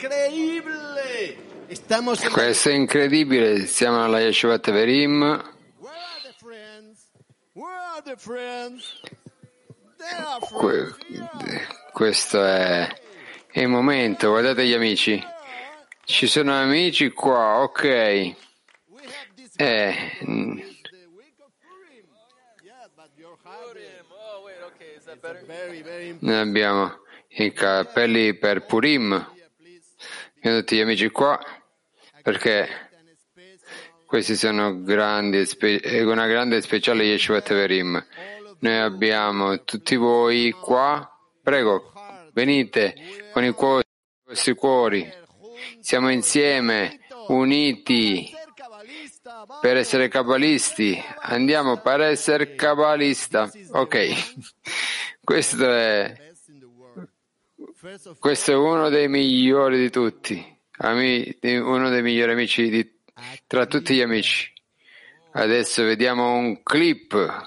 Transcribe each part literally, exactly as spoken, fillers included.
incredibile! Estamos en Questo è incredibile, siamo alla Yeshivat Verim. Where are the friends? Where are the friends? There are Que- friends here. questo è il momento, guardate gli amici. Ci sono amici qua, ok. We have this Eh, is mm, the week of Purim. Yeah, but your heart Purim. Oh, wait, okay. Is that better? is very, very important. noi abbiamo i cappelli per Purim. Here, please. Abbiamo tutti gli amici qua perché And a special questi sono grandi, e spe- è una grande e speciale Yeshivat Verim. Noi abbiamo tutti voi qua. Prego, venite con i cuori, i vostri cuori. Siamo insieme, uniti ser cabalista. Va. per essere cabalisti. Andiamo per essere cabalista. Ok, questo è, Best in the world. First of questo è uno dei migliori di tutti. Ami- di- uno dei migliori amici di, tra tutti gli amici. Adesso vediamo un clip.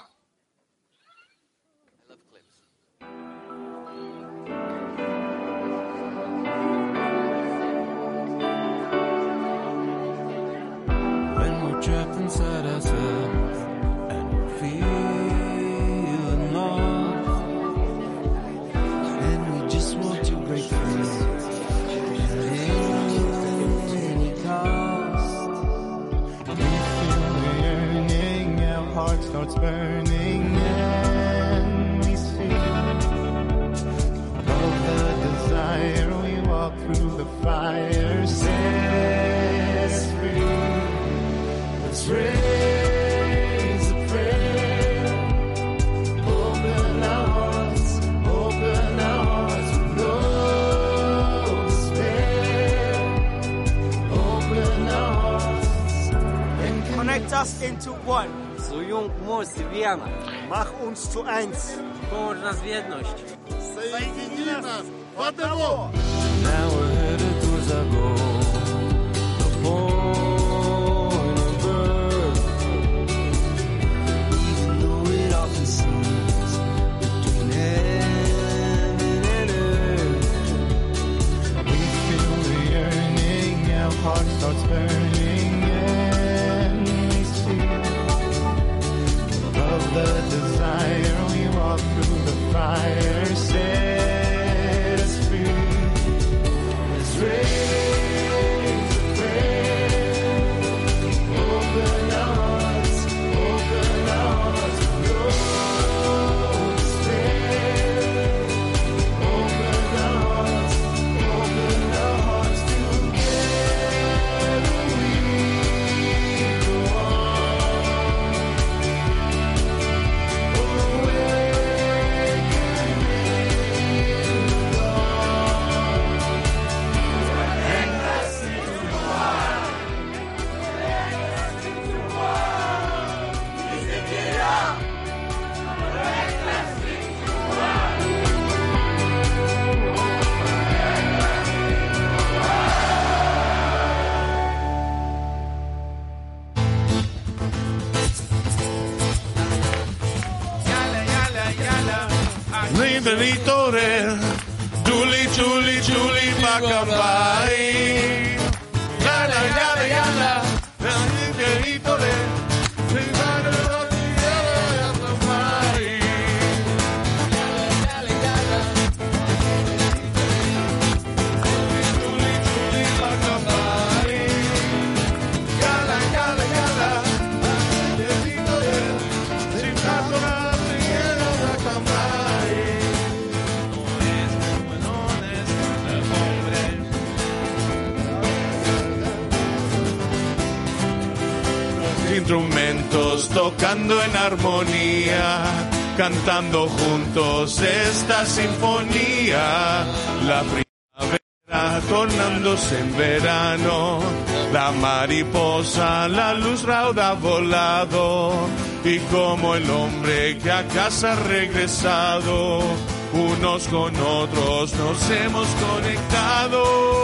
When we're trapped inside ourselves and we're feeling lost, and we just want to break free at any cost. We feel the yearning, our heart starts burning, and we see above the desire. We walk through the fire, set us free. Let's raise a prayer. Open our hearts, open our hearts with no despair. Open our hearts and Connect us into one. Soyons moc wiana. Mach uns zu eins. Połącz nas w jedność. Соедини нас в одного. now we're headed towards our goal. The point of birth. Even though it often seems between heaven and earth, we feel the yearning, our heart starts burning, and we see above the desire. We walk through the fire, set us free. Let's raise a prayer. Open our hearts, open our hearts with no despair. Open our hearts, open our hearts together. We go L'imprenditore Giuli, Giuli, Giuli Bacambai. Yala, yala, yala. L'imprenditore instrumentos tocando en armonía, cantando juntos esta sinfonía. La primavera tornándose en verano, la mariposa, la luz rauda ha volado, y como el hombre que a casa ha regresado, unos con otros nos hemos conectado.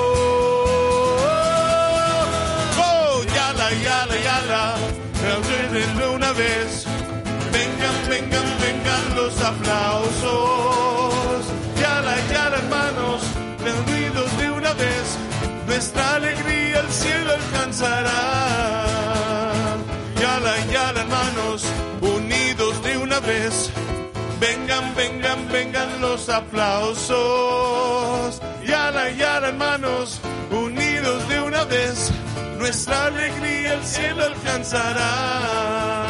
Oh, yala, yala, yala. De una vez, vengan, vengan, vengan los aplausos. Yala, yala, hermanos, reunidos de una vez, nuestra alegría el cielo alcanzará. Yala, yala, hermanos, unidos de una vez. Vengan, vengan, vengan los aplausos. Yala, yala, hermanos, unidos de una vez. Nuestra alegría el cielo alcanzará.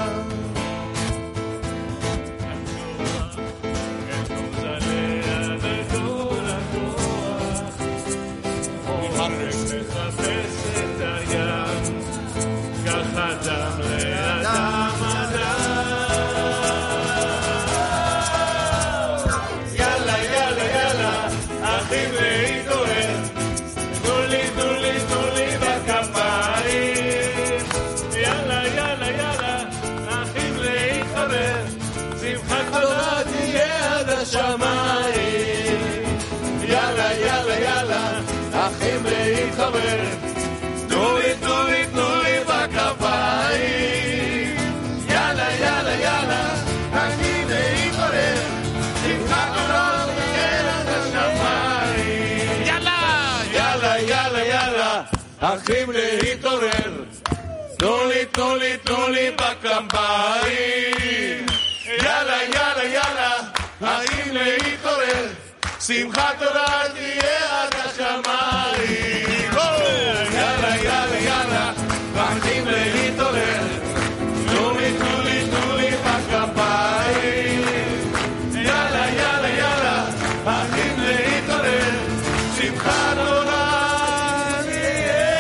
יאללה, יאללה, יאללה, אחים להתחבר. תנו לי, תנו לי, תנו לי בכפיים. יאללה, יאללה, יאללה, אחים להתחבר. שמחת תורה תהיה עד השמיים. יאללה, יאללה, יאללה, יאללה, אחים להתעורר. תנו לי, תנו לי, תנו לי בכפיים. יאללה, יאללה, יאללה, אחים להתעורר. שמחת תורה תהיה עד השמיים. יאללה, יאללה, יאללה, אחים להתעורר. תנו לי, תנו לי, תנו לי בכפיים. יאללה, יאללה, יאללה, אחים להתעורר. שמחת תורה תהיה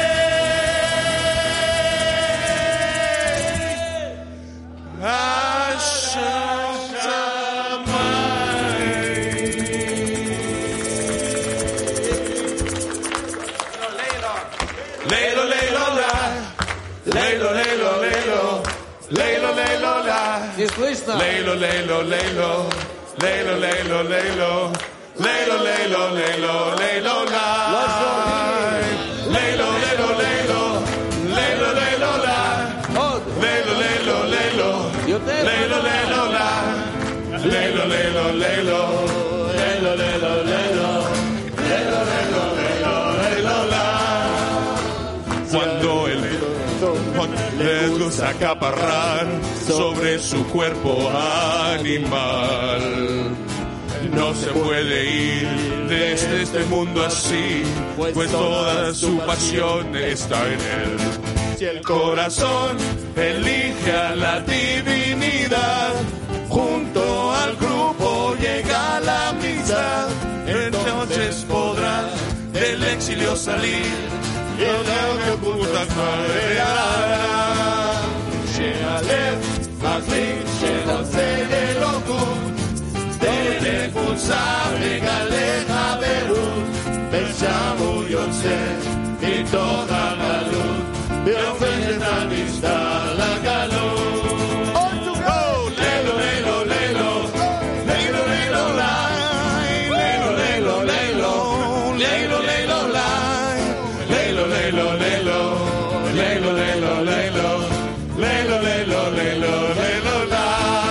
Не слышно? Лейло, лейло, лейло, лейло, лейло, лейло, лейло, лейло, лейло, лейло, лай. Лейло, лейло, лейло, лейло, лейло, лай. Лейло, лейло, лейло, лейло, лейло, лай. Лейло, лейло, лейло, лейло, лейло, лейло, лейло, лейло, лейло, лейло, лай. Cuando el les gusta acaparrar sobre su cuerpo animal. No se puede ir desde este mundo así, pues toda su pasión está en él. Si el corazón elige a la divinidad, junto al grupo llega a la amistad, entonces podrá del exilio salir. ידעו כפותך מראה שהלב מחליט שרוצה אלוקות דרך קבוצה מגלה חברות ושם הוא יוצא מתוך הגלות והופך את המשטר לגלות לילו לילו לילו לילו לילו לילו לילו לילו לילו לילו Lelo, lelo, lelo, lelo, lelo, lelo, lelo, lelo, lelo, lelo, la.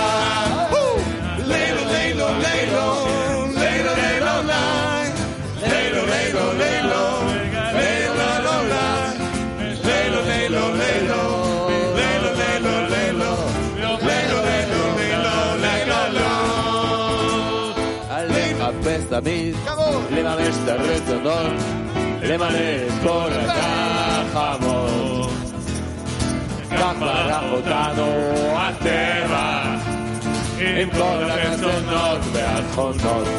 Lelo, lelo, lelo, lelo, lelo, la. Lelo, lelo, lelo, lelo, lelo, la. Lelo, lelo, lelo, lelo, lelo, lelo, lelo, lelo, lelo, lelo. לחפש תמיד, לממש את הרצונות, למלא את כל הגחמות. כך ברח אותנו הטבע, עם כל הרצונות והתכונות.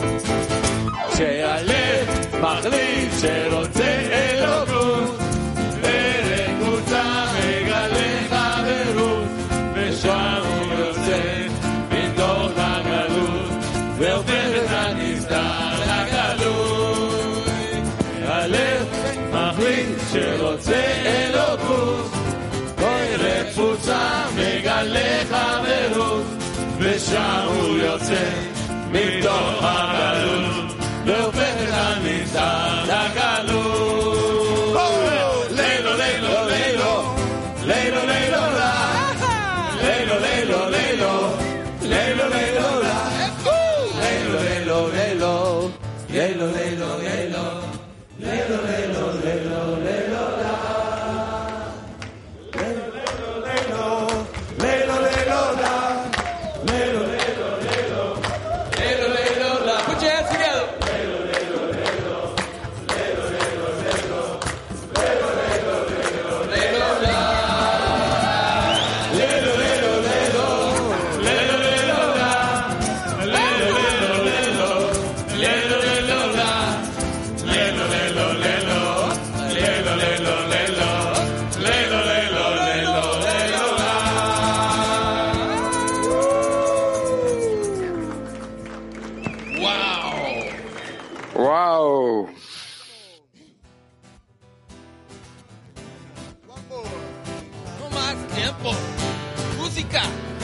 שהלב מחליט שרוצה אלוקות, דרך קבוצה מגלה חברות, ושם הוא יוצא מתוך הגלות, והופך את הנסתר לגלות. הלב מחליט שרוצה אלוקות, דרך קבוצה מגלה חברות, ושם הוא יוצא מתוך הגלות, והופך את הנסתר לגלות. לילו, לילו, לילו, לילו, לילו, לילו, לילו, לילו, לילו, לילו, lelo, lelo, lelo, lelo, lelo, lelo, lelo, lelo. más tiempo. Música.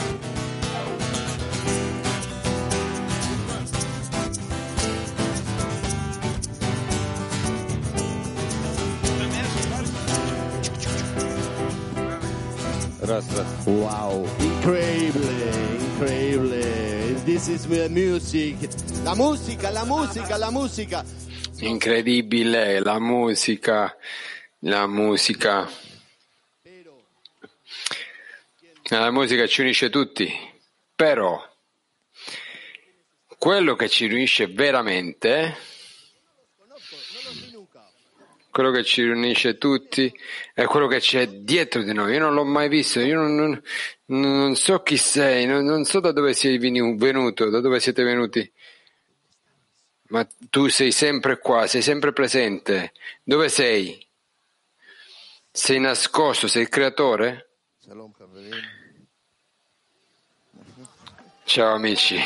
Wow, incredibile, incredibile. This is the music. La musica, la musica, la musica. Incredibile, la musica, la musica. La musica ci unisce tutti, però quello che ci unisce veramente, quello che ci unisce tutti, è quello che c'è dietro di noi. Io non l'ho mai visto, io non, non, non so chi sei, non, non so da dove sei venuto, da dove siete venuti, ma tu sei sempre qua, sei sempre presente. Dove sei? Sei nascosto, sei il creatore? Ciao amici.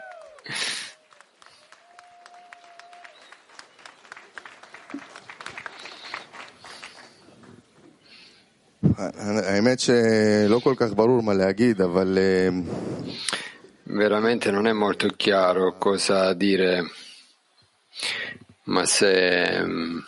האמת שלא כל כך ברור מה להגיד, אבל veramente non è molto chiaro cosa dire, ma se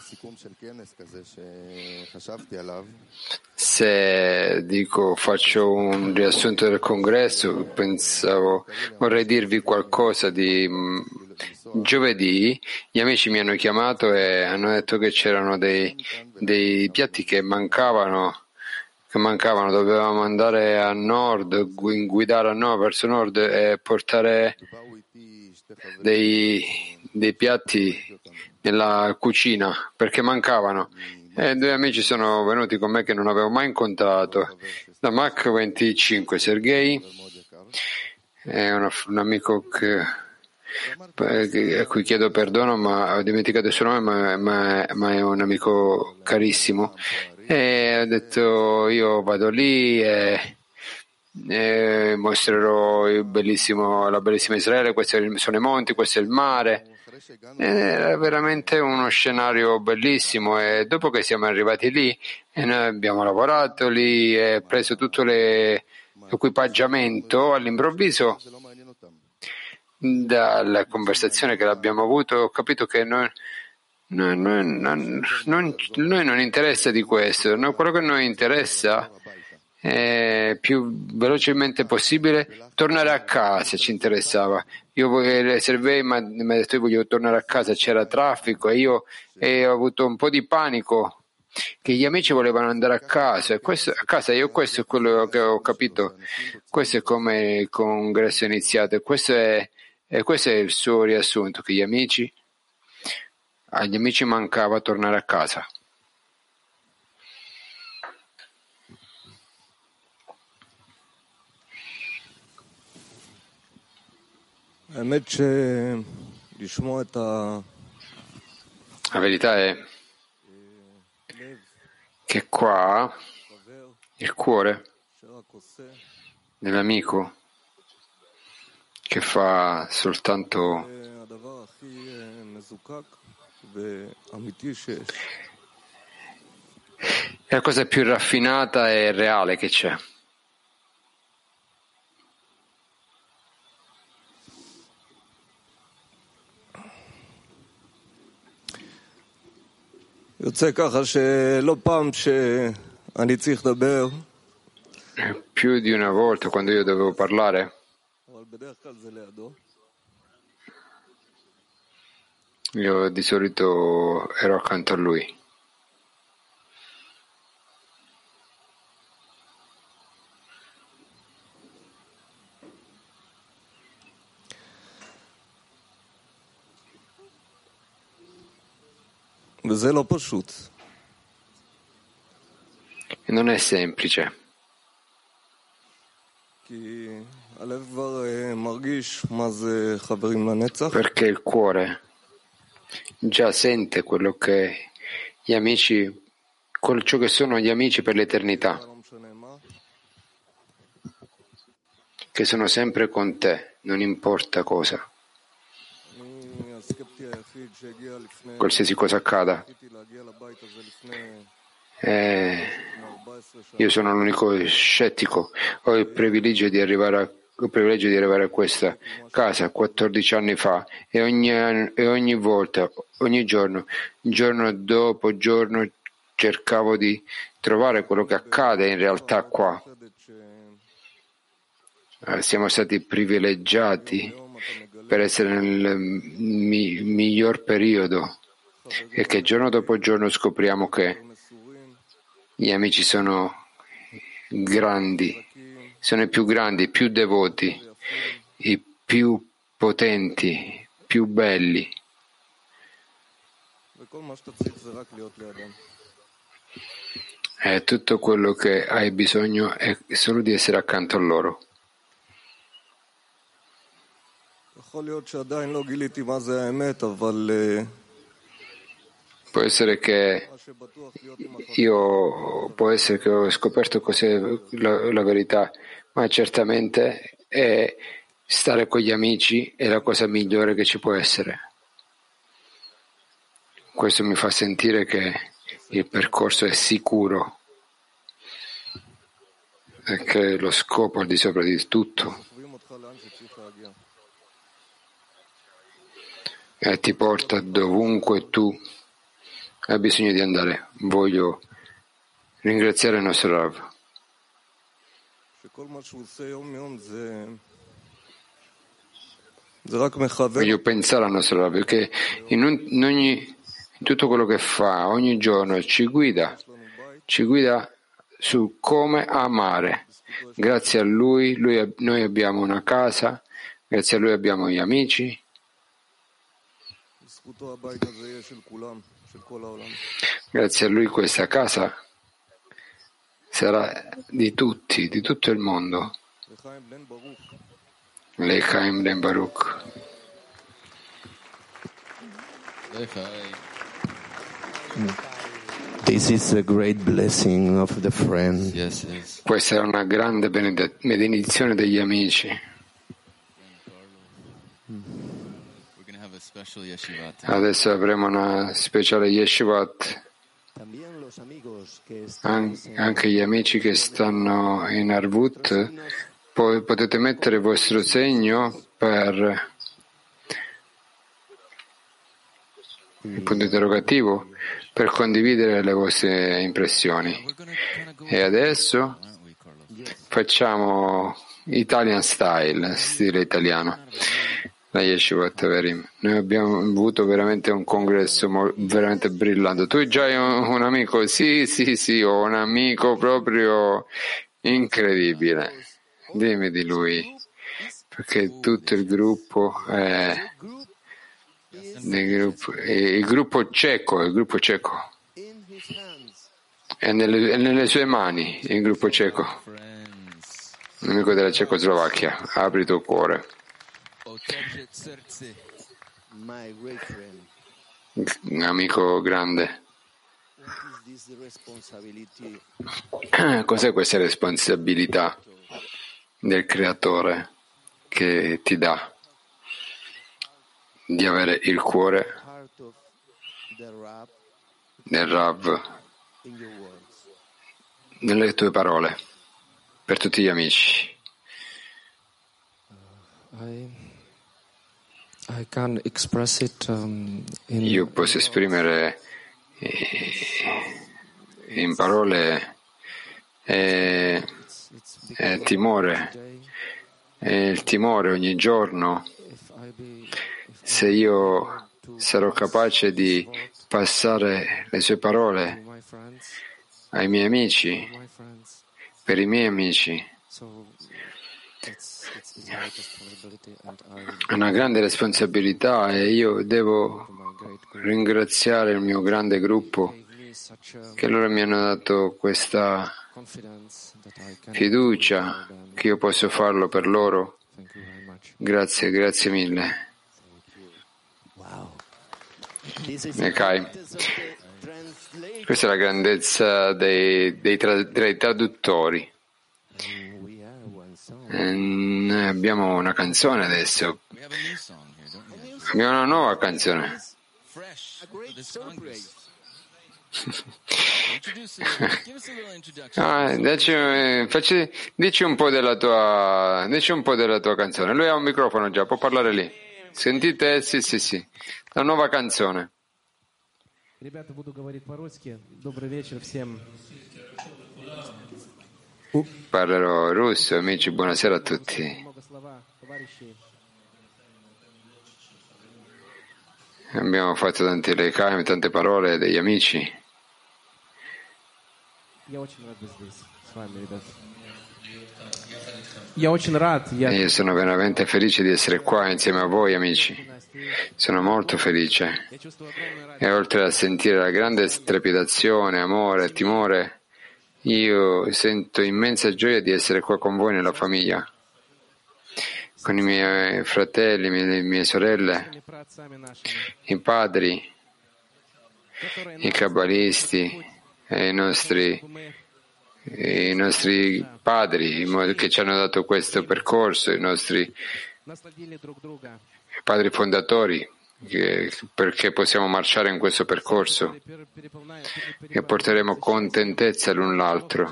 se dico faccio un riassunto del congresso, pensavo vorrei dirvi qualcosa di giovedì. Gli amici mi hanno chiamato e hanno detto che c'erano dei, dei piatti che mancavano che mancavano, dovevamo andare a nord, guidare a nord, verso nord e portare dei, dei piatti nella cucina perché mancavano. E due amici sono venuti con me che non avevo mai incontrato. Da Mach venticinque, Sergei, è un, un amico che, a cui chiedo perdono, ma ho dimenticato il suo nome, ma, ma, ma è un amico carissimo. E ho detto io vado lì e, e mostrerò il bellissimo, la bellissima Israele, questi sono i monti, questo è il mare. Era veramente uno scenario bellissimo e dopo che siamo arrivati lì e noi abbiamo lavorato lì e preso tutto le, l'equipaggiamento, all'improvviso dalla conversazione che abbiamo avuto ho capito che noi No, noi, non, non, noi non interessa di questo, no, quello che noi interessa è più velocemente possibile tornare a casa, ci interessava. Io voglio, Servei mi ha detto io voglio tornare a casa, c'era traffico e io e ho avuto un po' di panico che gli amici volevano andare a casa e questo, a casa io questo è quello che ho capito, questo è come il congresso è iniziato e questo è, e questo è il suo riassunto, che gli amici agli amici mancava tornare a casa. La verità è che qua il cuore dell'amico che fa soltanto è la cosa più raffinata e reale che c'è. יוצא ככה שלא פעם שאני צריך לדבר, più di una volta quando io dovevo parlare, אבל בדרך כלל זה לידו. io di solito ero accanto a lui. וזה לא פשוט. E non è semplice. כי הלב כבר מרגיש מה זה חברים לנצח. Perché il cuore già sente quello che gli amici, quello, ciò che sono gli amici per l'eternità, che sono sempre con te, non importa cosa, qualsiasi cosa accada. Eh, io sono l'unico scettico. Ho il privilegio di arrivare a, ho il privilegio di arrivare a questa casa quattordici anni fa e ogni, anno, e ogni volta, ogni giorno, giorno dopo giorno, cercavo di trovare quello che accade in realtà qua. Eh, siamo stati privilegiati per essere nel mi, miglior periodo e che giorno dopo giorno scopriamo che gli amici sono grandi, sono i più grandi, i più devoti, i più potenti, più belli. E tutto quello che hai bisogno è solo di essere accanto a loro. Può essere che io può essere che ho scoperto cos'è la, la verità, ma certamente è stare con gli amici è la cosa migliore che ci può essere. Questo mi fa sentire che il percorso è sicuro e che lo scopo è al di sopra di tutto e ti porta dovunque tu hai bisogno di andare. Voglio ringraziare il nostro Rav. Voglio pensare al nostro Rav perché in, un, in, ogni, in tutto quello che fa ogni giorno ci guida, ci guida su come amare. Grazie a lui, lui noi abbiamo una casa, grazie a lui abbiamo gli amici. Grazie a lui questa casa sarà di tutti, di tutto il mondo. L'Echaim Ben Baruch. This is a great blessing of the friend. Yes, yes. Questa è una grande benedizione degli amici. Adesso avremo una speciale yeshivat. An- anche gli amici che stanno in Arvut, poi potete mettere il vostro segno per il punto interrogativo per condividere le vostre impressioni. E adesso facciamo Italian style, stile italiano. La Yeshivat Verim. Noi abbiamo avuto veramente un congresso mo- veramente brillante. Tu già hai un, un amico? Sì, sì, sì, ho un amico proprio incredibile. Dimmi di lui, perché tutto il gruppo è del gruppo, il gruppo ceco, il gruppo ceco è nelle, è nelle sue mani, il gruppo ceco, l'amico della Cecoslovacchia. Apri il tuo cuore. Un amico grande. Cos'è questa responsabilità del creatore che ti dà di avere il cuore del Rav nelle tue parole per tutti gli amici? I can express it, um, in Io posso esprimere eh, in parole eh, eh, timore, eh, il timore ogni giorno. Se io sarò capace di passare le sue parole ai miei amici, per i miei amici, è una grande responsabilità e io devo ringraziare il mio grande gruppo che loro mi hanno dato questa fiducia che io posso farlo per loro. Grazie, grazie mille. Okay. Questa è la grandezza dei, dei, tra, dei traduttori. E noi abbiamo una canzone adesso. Abbiamo una nuova canzone. Ah, dici, eh, facci, dici un po' della tua, dici un po' della tua canzone. Lui ha un microfono già, può parlare lì. Sentite? Sì, sì, sì. La nuova canzone. Ребята, буду говорить по-русски. Добрый вечер всем. Parlerò russo, amici, buonasera a tutti. Много слова товарищей. Abbiamo fatto tanti recami, tante parole degli amici. Я очень рад быть здесь с вами, ребята. Я очень рад. Я... Io sono veramente felice di essere qua insieme a voi, amici. Sono molto felice. E oltre a sentire la grande trepidazione, amore, timore, io sento immensa gioia di essere qua con voi nella famiglia, con i miei fratelli, le mie sorelle, i padri, i kabbalisti e i nostri, i nostri padri che ci hanno dato questo percorso, i nostri padri fondatori, che, perché possiamo marciare in questo percorso e porteremo contentezza l'un l'altro.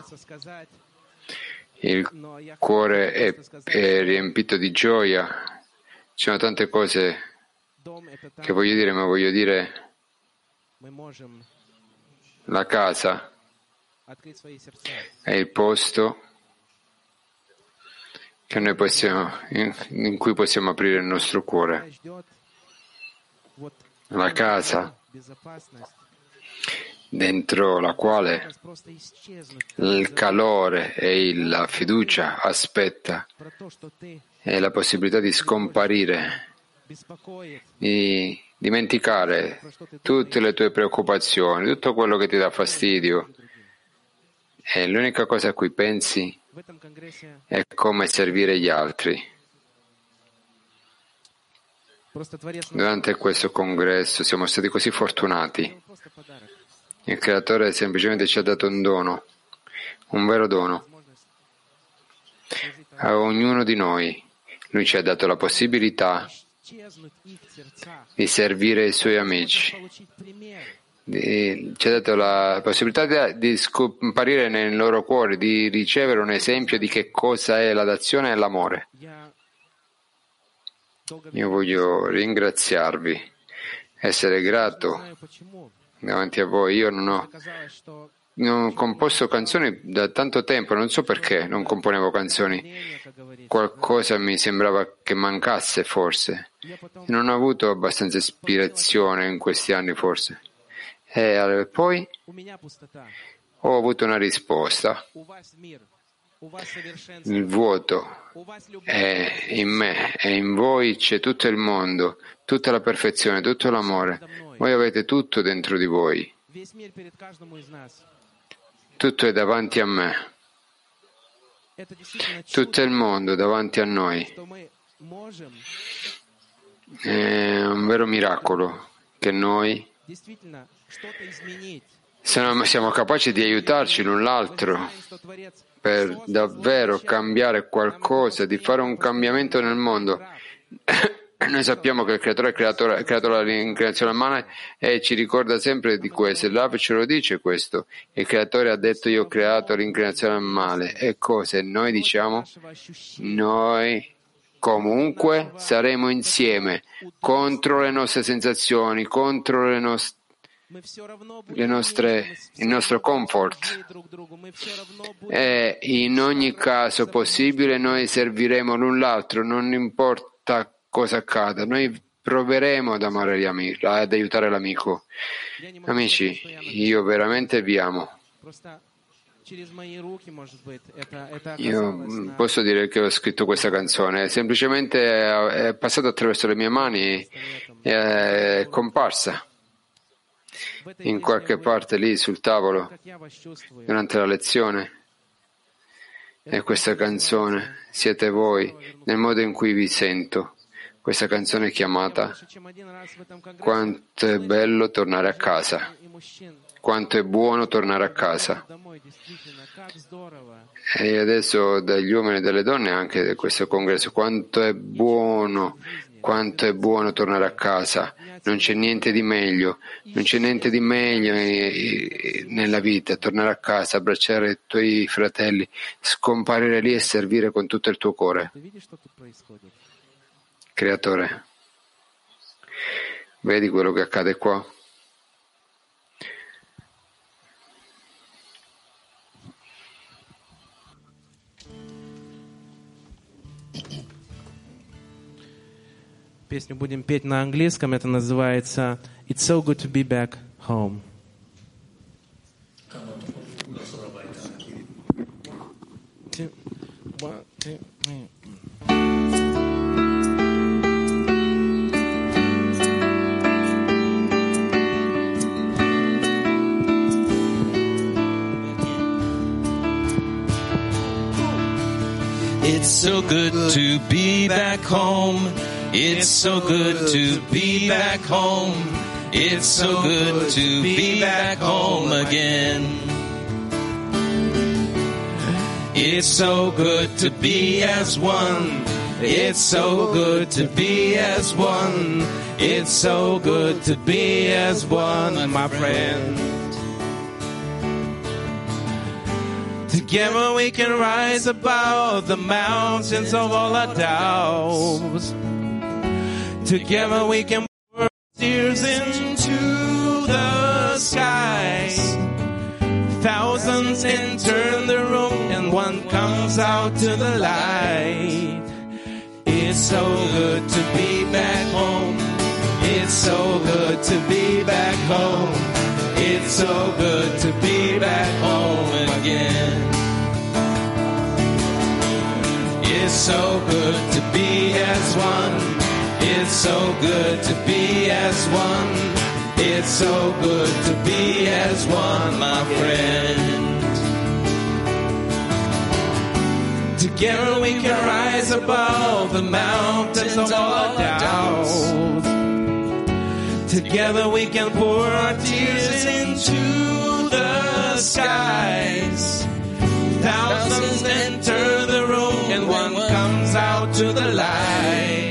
Il cuore è, è riempito di gioia. Ci sono tante cose che voglio dire, ma voglio dire la casa è il posto che noi possiamo, in, in cui possiamo aprire il nostro cuore. La casa dentro la quale il calore e la fiducia aspetta e la possibilità di scomparire, di dimenticare tutte le tue preoccupazioni, tutto quello che ti dà fastidio, e l'unica cosa a cui pensi è come servire gli altri. Durante questo congresso siamo stati così fortunati. Il Creatore semplicemente ci ha dato un dono, un vero dono. A ognuno di noi, Lui ci ha dato la possibilità di servire i Suoi amici. Di, ci ha dato la possibilità di, di scomparire nel loro cuore, di ricevere un esempio di che cosa è la dazione e l'amore. Io voglio ringraziarvi, essere grato davanti a voi. Io non ho, non ho composto canzoni da tanto tempo, non so perché non componevo canzoni. Qualcosa mi sembrava che mancasse forse. Non ho avuto abbastanza ispirazione in questi anni forse. E poi ho avuto una risposta. Il vuoto è in me e in voi c'è tutto il mondo, tutta la perfezione, tutto l'amore. Voi avete tutto dentro di voi. Tutto è davanti a me. Tutto il mondo davanti a noi. È un vero miracolo che noi siamo capaci di aiutarci l'un l'altro per davvero cambiare qualcosa, di fare un cambiamento nel mondo. Noi sappiamo che il Creatore ha creato l'incarnazione umana e ci ricorda sempre di questo. Il Rav ce lo dice questo. Il Creatore ha detto: io ho creato l'incarnazione male. E cosa? Noi diciamo: noi comunque saremo insieme contro le nostre sensazioni, contro le nostre Le nostre, il nostro comfort, e in ogni caso possibile noi serviremo l'un l'altro, non importa cosa accada, noi proveremo ad amare gli amici, ad aiutare l'amico. Amici, io veramente vi amo. Io posso dire che ho scritto questa canzone, semplicemente è passata attraverso le mie mani e è comparsa in qualche parte lì sul tavolo durante la lezione. E questa canzone siete voi nel modo in cui vi sento. Questa canzone è chiamata Quanto è bello tornare a casa, quanto è buono tornare a casa. E adesso dagli uomini e dalle donne anche di questo congresso, quanto è buono quanto è buono tornare a casa. Non c'è niente di meglio, non c'è niente di meglio nella vita. Tornare a casa, abbracciare i tuoi fratelli, scomparire lì e servire con tutto il tuo cuore. Creatore, vedi quello che accade qua? Песню будем петь на английском. Это называется «It's so good to be back home». Two, one, two, three. It's so good to be back home. It's so good to be back home. It's so good to be back home again. It's so good to be as one. It's so good to be as one. It's so good to be as one, my friend. Together we can rise above the mountains of all our doubts. Together we can pour tears into the skies. Thousands enter the room and one comes out to the light. It's so good to be back home. It's so good to be back home. It's so good to be back home again. It's so good to be as one. It's so good to be as one. It's so good to be as one, my friend. Together we can rise above the mountains of all our doubts. Together we can pour our tears into the skies. Thousands enter the room and one comes out to the light.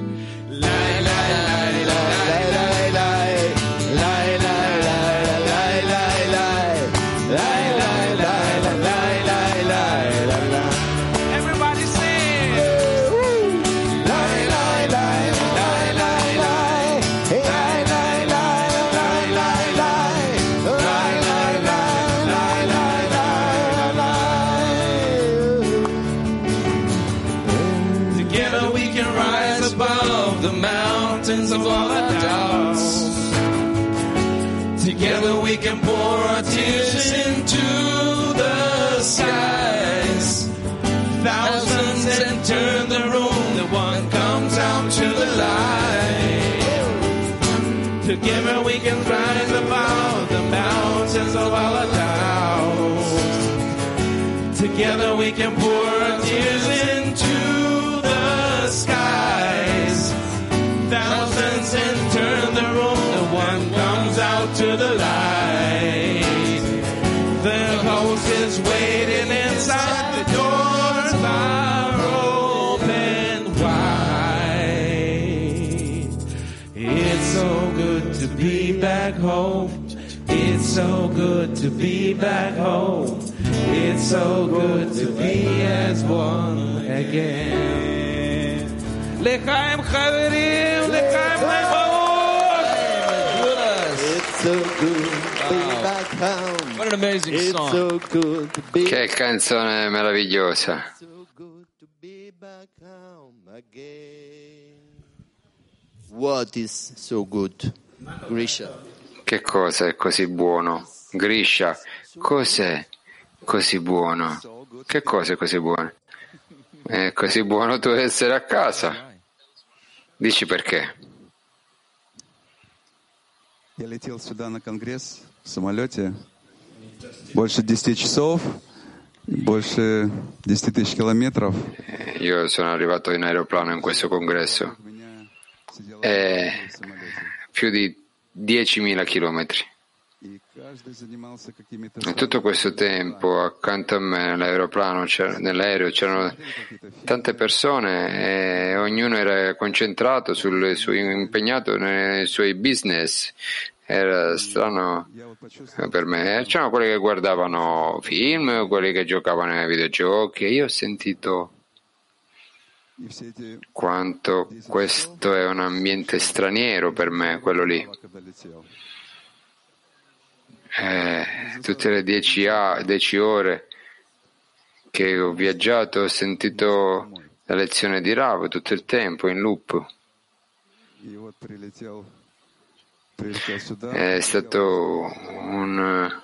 Of all our doubts. Together we can pour our tears into the skies. Thousands enter the room, the one comes out to the light. Together we can rise above the mountains of all our doubts. Together we can pour our tears into the skies. Thousands enter the room, the one comes out to the light. The host is waiting inside, the doors are open wide. It's so good to be back home. It's so good to be back home. It's so good to be as one again. L'chaim chaverim, l'chaim chaimot. It's so good to be back home. What an amazing It's song. so good to be Che canzone meravigliosa. so good to be back home again. What is so good? Grisha. Che cosa è così buono? Grisha, cos'è così buono? Che cosa è così buono? È così buono tu essere a casa. Dici perché? Я летел сюда на конгресс в самолете. Больше десяти часов, больше десяти тысяч километров. Io sono arrivato in aeroplano in questo congresso. È più di diecimila chilometri. E tutto questo tempo accanto a me nell'aeroplano, c'era- nell'aereo c'erano tante persone e ognuno era concentrato sul suo, impegnato nei suoi business. Era strano per me. C'erano quelli che guardavano film, quelli che giocavano ai videogiochi e io ho sentito quanto questo è un ambiente straniero per me, quello lì. Eh, tutte le dieci, a, dieci ore che ho viaggiato ho sentito la lezione di Rav tutto il tempo in loop. È stato un,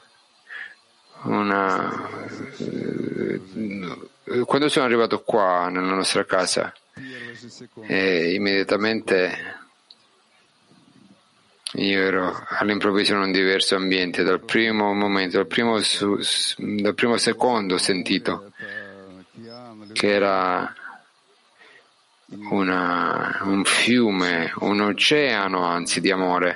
una quando sono arrivato qua nella nostra casa e immediatamente io ero all'improvviso in un diverso ambiente. Dal primo momento, dal primo, su, dal primo secondo ho sentito che era una, un fiume, un oceano anzi di amore.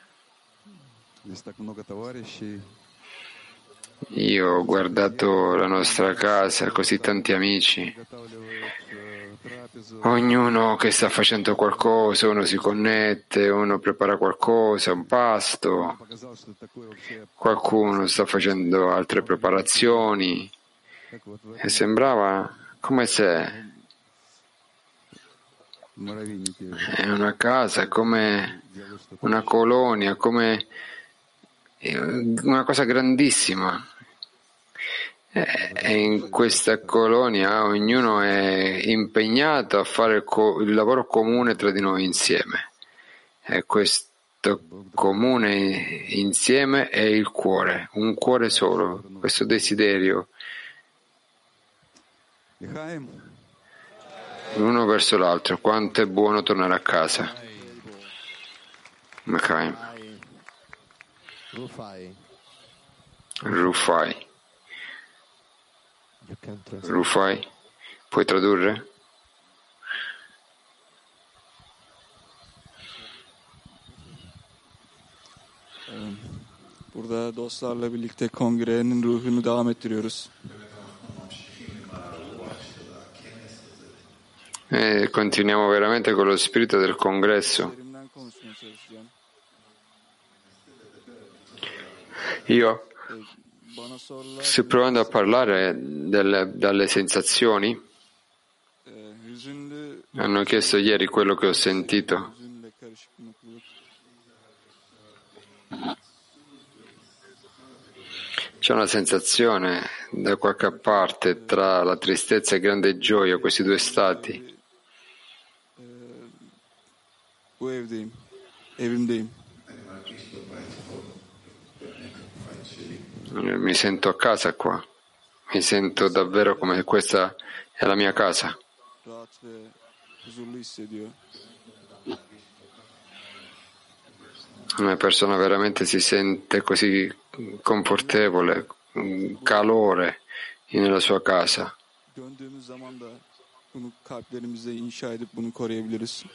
Io ho guardato la nostra casa, così tanti amici, ognuno che sta facendo qualcosa, uno si connette, uno prepara qualcosa, un pasto, qualcuno sta facendo altre preparazioni e sembrava come se è una casa, come una colonia, come una cosa grandissima. E in questa colonia ognuno è impegnato a fare il, co- il lavoro comune tra di noi insieme. E questo comune insieme è il cuore, un cuore solo, questo desiderio l'uno verso l'altro. Quanto è buono tornare a casa. Makaim. Rufai. Rufai. Rufai, puoi tradurre? Burada dostlarla birlikte kongrenin ruhunu devam ettiriyoruz. E continuiamo veramente con lo spirito del congresso. Io sto provando a parlare delle, dalle sensazioni. Hanno chiesto ieri quello che ho sentito. C'è una sensazione da qualche parte tra la tristezza e grande gioia, questi due stati. Bu evdeyim. Evimdeyim. Mi sento a casa qua, mi sento davvero come questa è la mia casa. Rahat ve huzurlu hissediyor. Una persona veramente si sente così confortevole, calore nella sua casa. Döndüğümüz zaman da bunu kalplerimizde inşa edip bunu koruyabiliriz.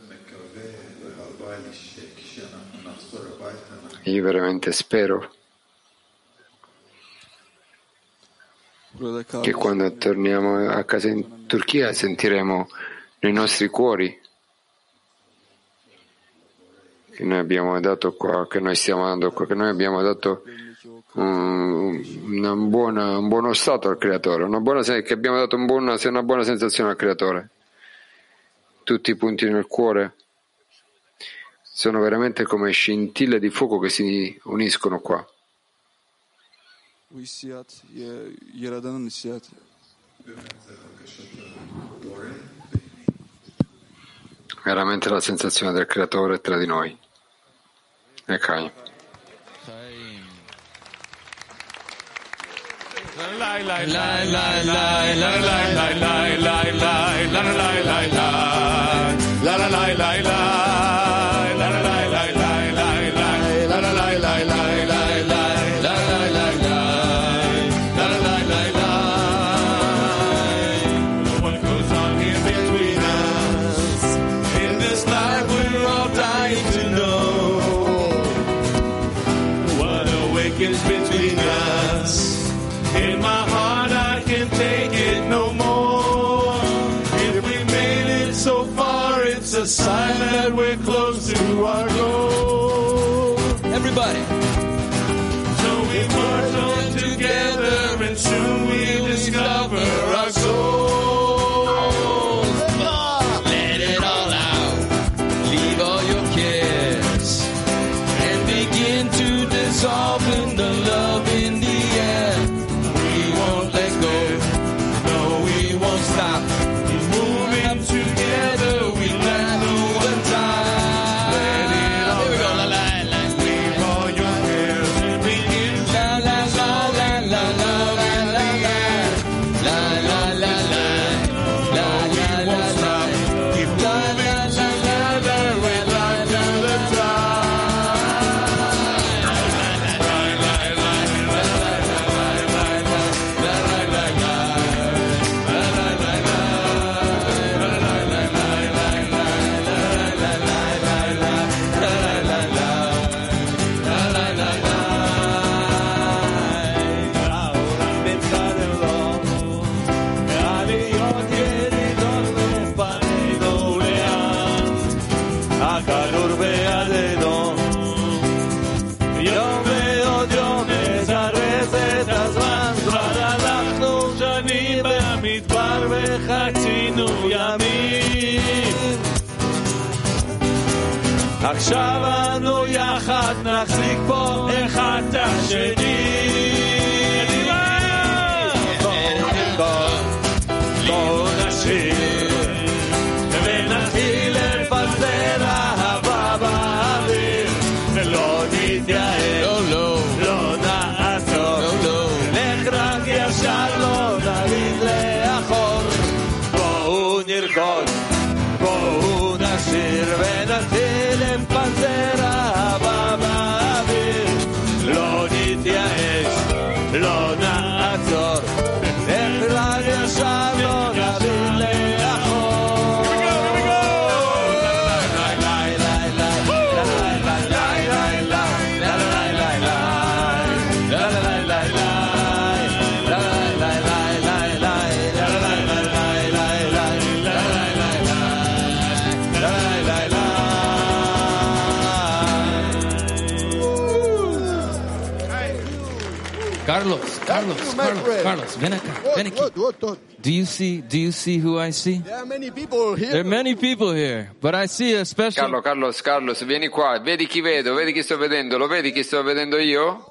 Io veramente spero che quando torniamo a casa in Turchia sentiremo nei nostri cuori che noi abbiamo dato qua, che noi stiamo dando qua, che noi abbiamo dato um, una buona, un buono stato al Creatore, una buona, che abbiamo dato un buona, una buona sensazione al Creatore. Tutti i punti nel cuore sono veramente come scintille di fuoco che si uniscono qua. Bu hissiyat, Yaradan'ın hissiyatı. Veramente la sensazione del Creatore tra di noi. E Chaim. sign that we're close to our goal. Everybody. So we march on together and soon we'll discover our souls. Let it all out. Leave all your cares and begin to dissolve in the love in the air. We won't let go. No, we won't stop. Moving together, we let go the time. Let it all Here we go. out. La, la, la. Leave all your cares and begin to La, la, la, la, la, la, la, la, la. La, la, la, la. La, la, la, la. keep moving together. We'd like to the הכדור בידינו, יום ועוד יום מזרז את הזמן, כבר הלכנו שנים במדבר וחצינו ימים. עכשיו אנו יחד נחזיק פה אחד את השני. בואו נרקוד, בואו נשיר ונתחיל לפזר אהבה באוויר, ולא נתייאש, לא נעצור, לך רק ישר, לא נביט לאחור. בואו נרקוד, בואו נשיר ונתחיל לפזר אהבה באוויר, לא נתייאש, לא נעצור, לך רק ישר, לא נביט לאחור. Carlos, Carlos, Carlos, Carlos, ven acá, ven aquí. Do you see, do you see who I see? There are many people here. There are many people here, but I see a special... Carlo, Carlos, Carlos, vieni qua, vedi chi vedo, vedi chi sto vedendo, lo vedi chi sto vedendo io?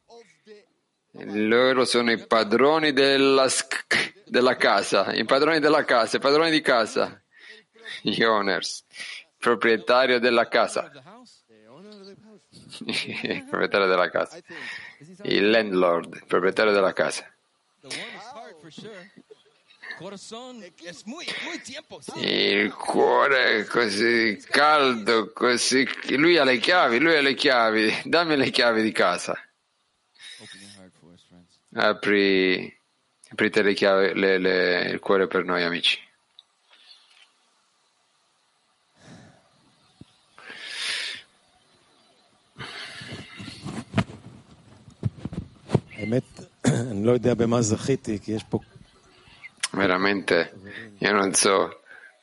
Loro sono i padroni della, sc- della casa, i padroni della casa, i padroni di casa, gli owners, proprietario della casa, il proprietario della casa, il landlord, il proprietario della casa. Il cuore è così caldo, così... Lui ha le chiavi, lui ha le chiavi. Dammi le chiavi di casa. Apri, aprite le chiavi, le, le, il cuore per noi amici. Veramente, io non so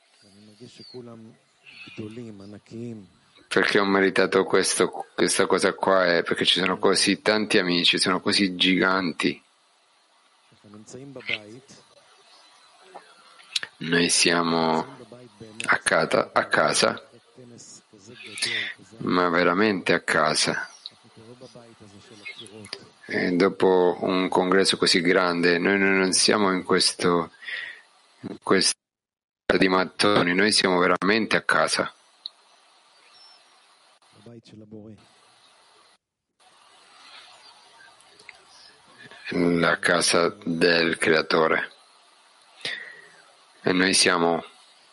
perché ho meritato questo, questa cosa qua, è perché ci sono così tanti amici, sono così giganti. Noi siamo a casa, a casa, ma veramente a casa. E dopo un congresso così grande, noi non siamo in questo, in questo di mattoni, noi siamo veramente a casa. La casa del Creatore. E noi siamo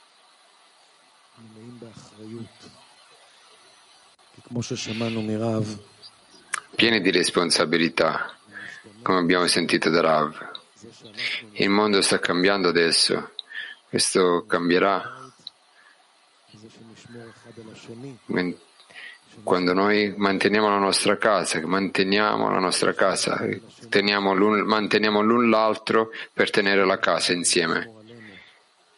pieni di responsabilità, come abbiamo sentito da Rav. Il mondo sta cambiando adesso, questo cambierà quando noi manteniamo la nostra casa, manteniamo la nostra casa, teniamo l'un, manteniamo l'un l'altro per tenere la casa insieme.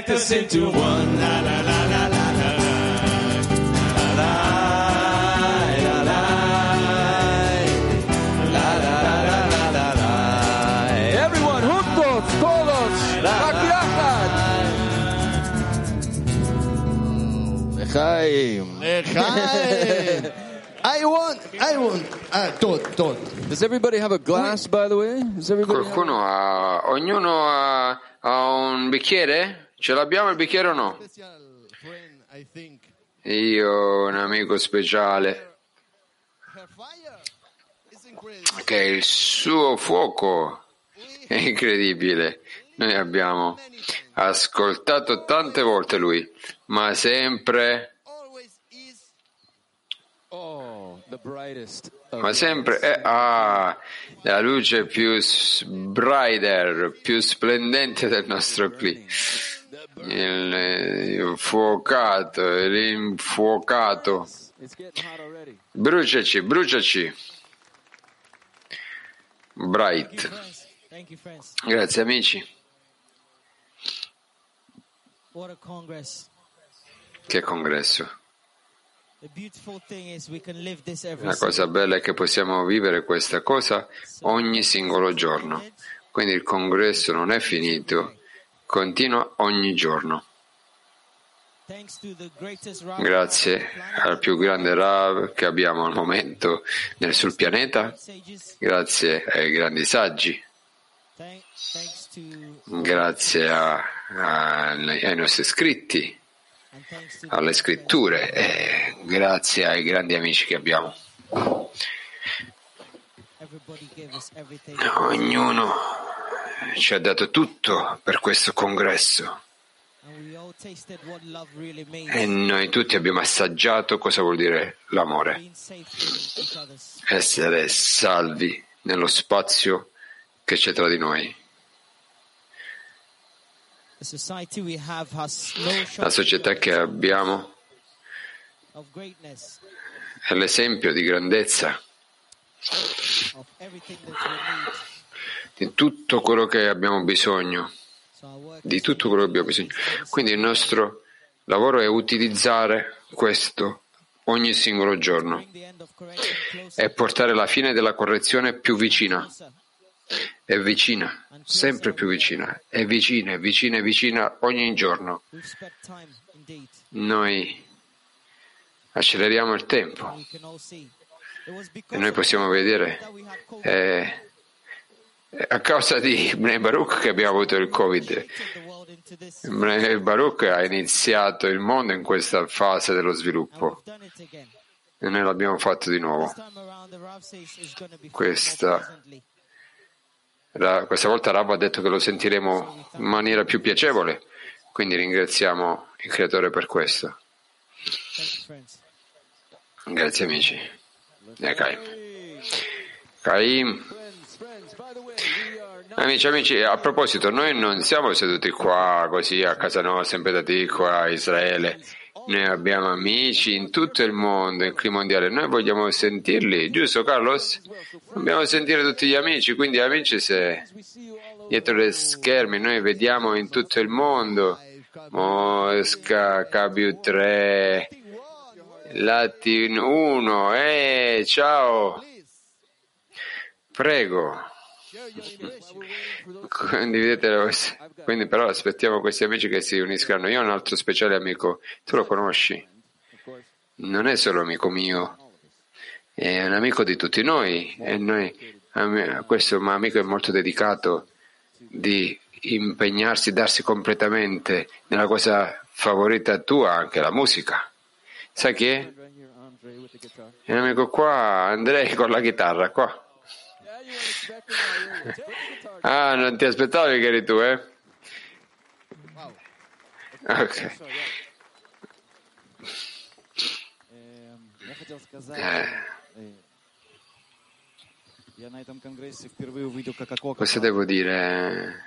connect us into one. La la la la la la la la la la la la la la la. Everyone, juntos, todos, L'chaim. L'chaim. I want, I want, ah, tot, tot. Does everybody have a glass, by the way? Does everybody have... Qualcuno ha, ognuno ha, ha un bicchiere? Ce l'abbiamo il bicchiere o no? Io ho un amico speciale che il suo fuoco è incredibile. Noi abbiamo ascoltato tante volte lui, ma sempre ma sempre è ah, la luce più brighter, più splendente del nostro qui, il, il fuocato, l'infuocato. Bruciaci, bruciaci. Bright. Grazie amici. Che congresso. La cosa bella è che possiamo vivere questa cosa ogni singolo giorno. Quindi il congresso non è finito, continua ogni giorno. Grazie al più grande Rav che abbiamo al momento nel, sul pianeta, grazie ai grandi saggi, grazie a, a, ai nostri scritti, alle scritture e grazie ai grandi amici che abbiamo. Ognuno ci ha dato tutto per questo congresso e noi tutti abbiamo assaggiato cosa vuol dire l'amore, essere salvi nello spazio che c'è tra di noi. La società che abbiamo è l'esempio di grandezza di tutto quello che abbiamo bisogno, di tutto quello che abbiamo bisogno. Quindi il nostro lavoro è utilizzare questo ogni singolo giorno e portare la fine della correzione più vicina. È vicina, sempre più vicina, è vicina, è vicina, è vicina ogni giorno. Noi acceleriamo il tempo e noi possiamo vedere eh, a causa di Bnei Baruch che abbiamo avuto il Covid. Bnei Baruch ha iniziato il mondo in questa fase dello sviluppo e noi l'abbiamo fatto di nuovo. Questa Questa volta Rav ha detto che lo sentiremo in maniera più piacevole, quindi ringraziamo il Creatore per questo. Grazie amici. Caim. Amici, amici, a proposito, noi non siamo seduti qua così a casa nostra, sempre da qua a Israele. Noi abbiamo amici in tutto il mondo, in clima mondiale. Noi vogliamo sentirli, giusto Carlos? Dobbiamo sentire tutti gli amici, quindi amici, se dietro le schermi noi vediamo in tutto il mondo Mosca, K B tre, Latin uno, eh, ciao, prego. Condividete, quindi però aspettiamo questi amici che si uniscano. Io ho un altro speciale amico, tu lo conosci? Non è solo amico mio, è un amico di tutti noi e noi, questo amico è molto dedicato di impegnarsi, darsi completamente nella cosa favorita tua, anche la musica. Sai chi è? È un amico qua, Andrei con la chitarra qua. Ah, non ti aspettavi che eri tu, eh? Ok. Eh. Cosa devo dire?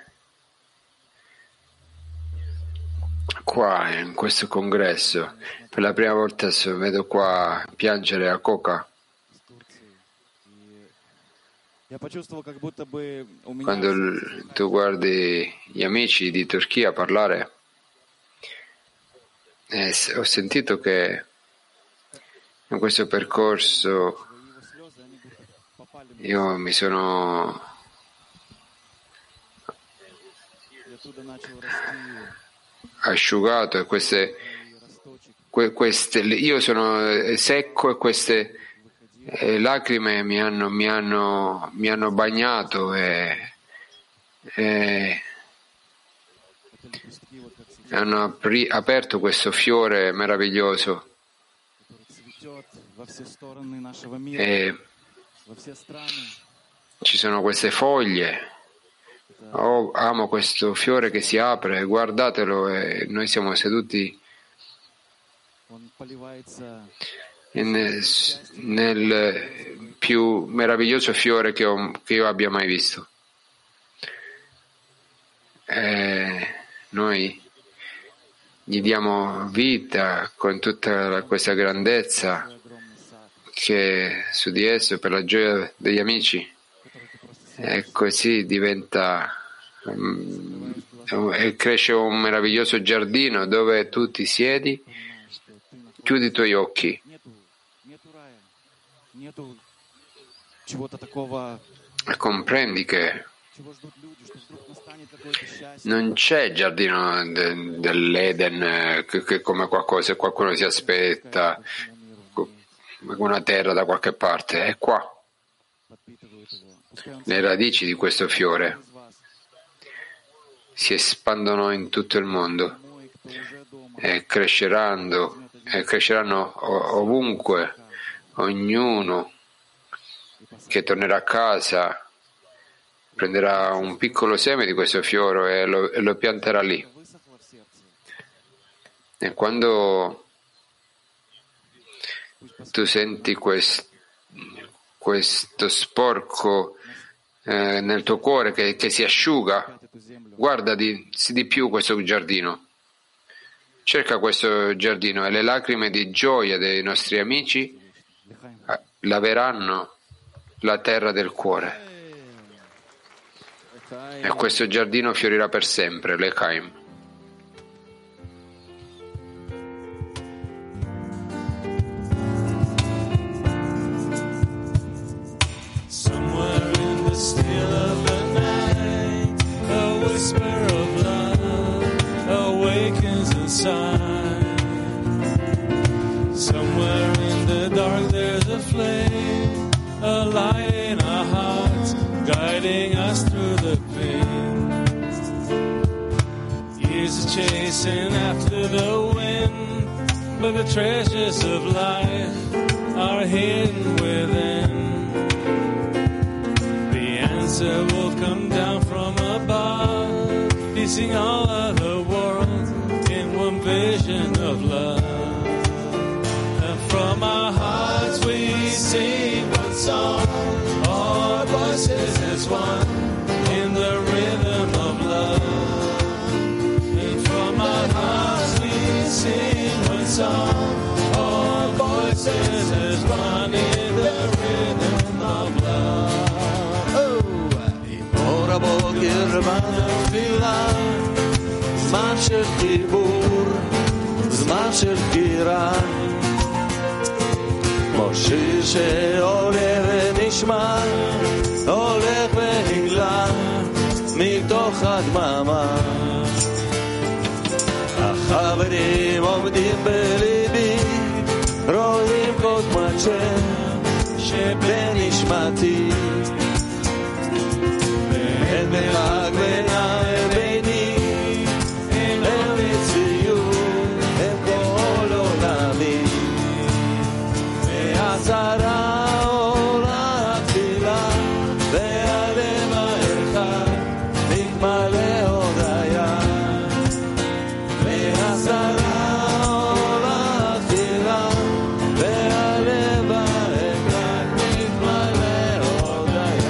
Qua, in questo congresso, per la prima volta vedo qua piangere a Coca. Quando tu guardi gli amici di Turchia parlare, eh, ho sentito che in questo percorso io mi sono asciugato e queste, que, queste io sono secco e queste eh, lacrime mi hanno, mi hanno, mi hanno bagnato e, e hanno apri, aperto questo fiore meraviglioso e ci sono queste foglie. Oh, amo questo fiore che si apre, guardatelo, e noi siamo seduti in, nel più meraviglioso fiore che, ho, che io abbia mai visto. E noi gli diamo vita con tutta questa grandezza che su di esso, per la gioia degli amici, e così diventa um, e cresce un meraviglioso giardino dove tu ti siedi, chiudi i tuoi occhi e comprendi che non c'è giardino de, dell'Eden che, che come qualcosa che qualcuno si aspetta, una terra da qualche parte, è qua. Le radici di questo fiore si espandono in tutto il mondo e cresceranno, e cresceranno ovunque. Ognuno che tornerà a casa prenderà un piccolo seme di questo fiore e lo, e lo pianterà lì. E quando tu senti quest, questo sporco eh, nel tuo cuore che, che si asciuga, guarda di, di più questo giardino, cerca questo giardino e le lacrime di gioia dei nostri amici laveranno la terra del cuore e questo giardino fiorirà per sempre, l'Echaim. Still of the night, a whisper of love awakens inside. Somewhere in the dark there's a flame, a light in our hearts, guiding us through the pain. Years are chasing after the wind, but the treasures of life are hidden within. Answer will come down from above, piecing all of the world in one vision of love. And from our hearts we sing one song, our voices as one in the rhythm of love. And from our hearts we sing one song, our voices as one in the rhythm of love. בוקר בתפילה, זמן של חיבור, זמן של קירה, כמו שיר שעולה ונשמע, הולך ונגלה מתוך הדממה. החברים עומדים בליבי, רואים כל דמות שבנשמתי, אין מרחק בינם וביני, הם מציאות, הם כל עולמי. והשרה עולה תפילה, והלב האחד מתמלא הודיה. והשרה עולה תפילה, והלב האחד מתמלא הודיה.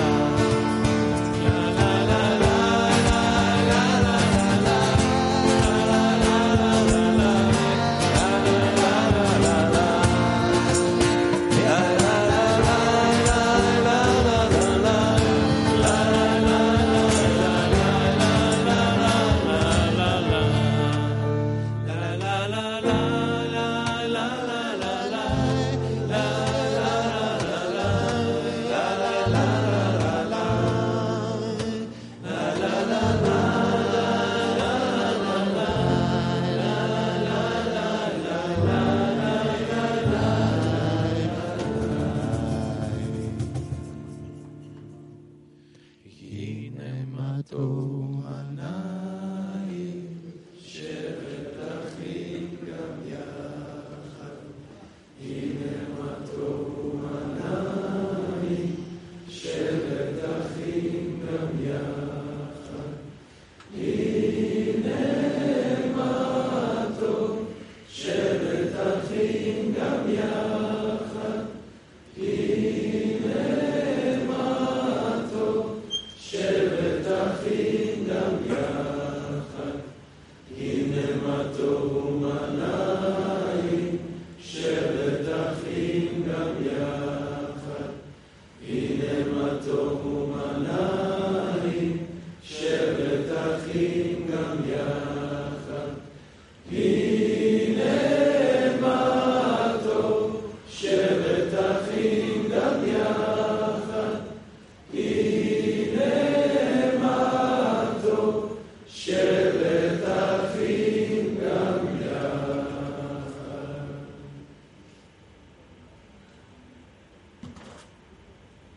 mato anai, shevet achim gam yachad. Hine mato anai, shevet achim gam yachad. Hine mato, shevet achim gam yachad. Hine mato, shevet achim gam yachad. Hine mato manai, shevet achim gam yachad. Hine mato manai, shevet achim gam yachad. Hine mato, shevet achim gam yachad. Hine mato, shevet achim gam yachad.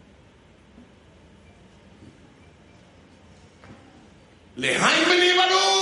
L'Echaim b'nei Baruch!